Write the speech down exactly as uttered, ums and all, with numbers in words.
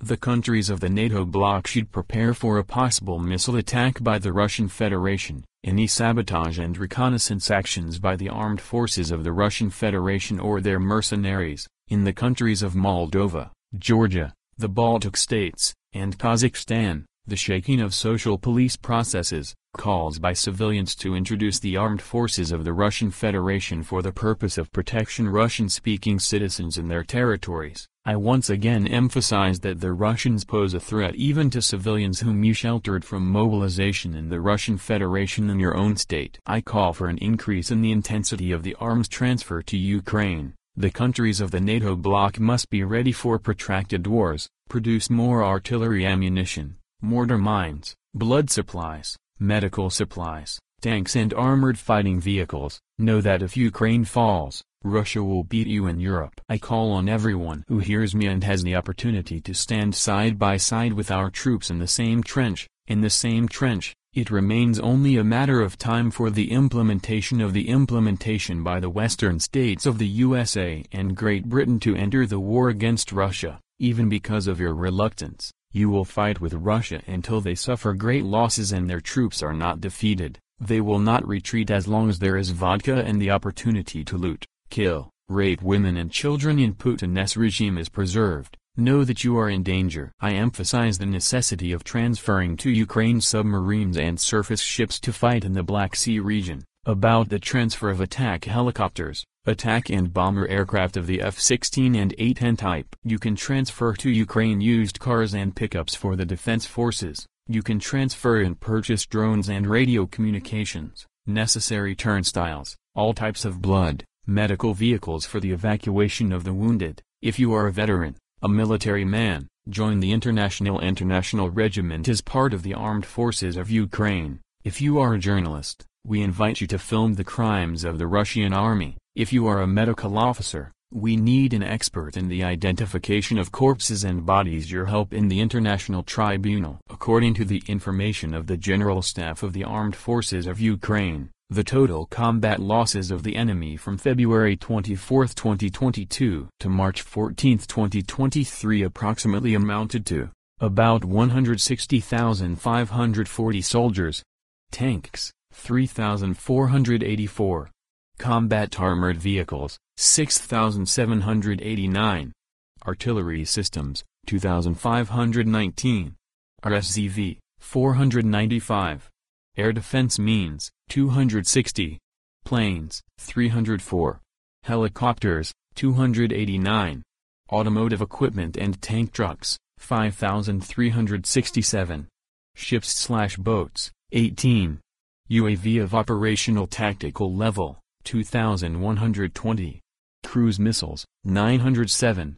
The countries of the NATO bloc should prepare for a possible missile attack by the Russian Federation, any sabotage and reconnaissance actions by the armed forces of the Russian Federation or their mercenaries, in the countries of Moldova, Georgia, the Baltic states, and Kazakhstan, the shaking of social police processes, calls by civilians to introduce the armed forces of the Russian Federation for the purpose of protection Russian-speaking citizens in their territories. I once again emphasize that the Russians pose a threat even to civilians whom you sheltered from mobilization in the Russian Federation in your own state. I call for an increase in the intensity of the arms transfer to Ukraine. The countries of the NATO bloc must be ready for protracted wars, produce more artillery ammunition, mortar mines, blood supplies, medical supplies, tanks and armored fighting vehicles. Know that if Ukraine falls, Russia will beat you in Europe. I call on everyone who hears me and has the opportunity to stand side by side with our troops in the same trench, in the same trench. It remains only a matter of time for the implementation of the implementation by the western states of the U S A and Great Britain to enter the war against Russia. Even because of your reluctance, you will fight with Russia until they suffer great losses and their troops are not defeated. They will not retreat as long as there is vodka and the opportunity to loot, kill, rape women and children in Putin's regime is preserved. Know that you are in danger. I emphasize the necessity of transferring to Ukraine submarines and surface ships to fight in the Black Sea region, about the transfer of attack helicopters, attack and bomber aircraft of the F sixteen and A ten type. You can transfer to Ukraine used cars and pickups for the defense forces. You can transfer and purchase drones and radio communications, necessary turnstiles, all types of blood, medical vehicles for the evacuation of the wounded. If you are a veteran, a military man, join the International International Regiment as part of the armed forces of Ukraine. If you are a journalist, we invite you to film the crimes of the Russian army. If you are a medical officer, we need an expert in the identification of corpses and bodies. Your help in the International Tribunal. According to the information of the General Staff of the Armed Forces of Ukraine, the total combat losses of the enemy from February twenty-fourth twenty twenty-two to March fourteenth twenty twenty-three approximately amounted to about one hundred sixty thousand five hundred forty soldiers, tanks, three thousand four hundred eighty-four, combat armored vehicles, six thousand seven hundred eighty-nine, artillery systems, two thousand five hundred nineteen, R S Z V, four hundred ninety-five, air defense means, two hundred sixty, planes, three hundred four, helicopters, two hundred eighty-nine, automotive equipment and tank trucks, five thousand three hundred sixty-seven, ships/boats, eighteen, U A V of operational tactical level, two thousand one hundred twenty, cruise missiles, nine hundred seven,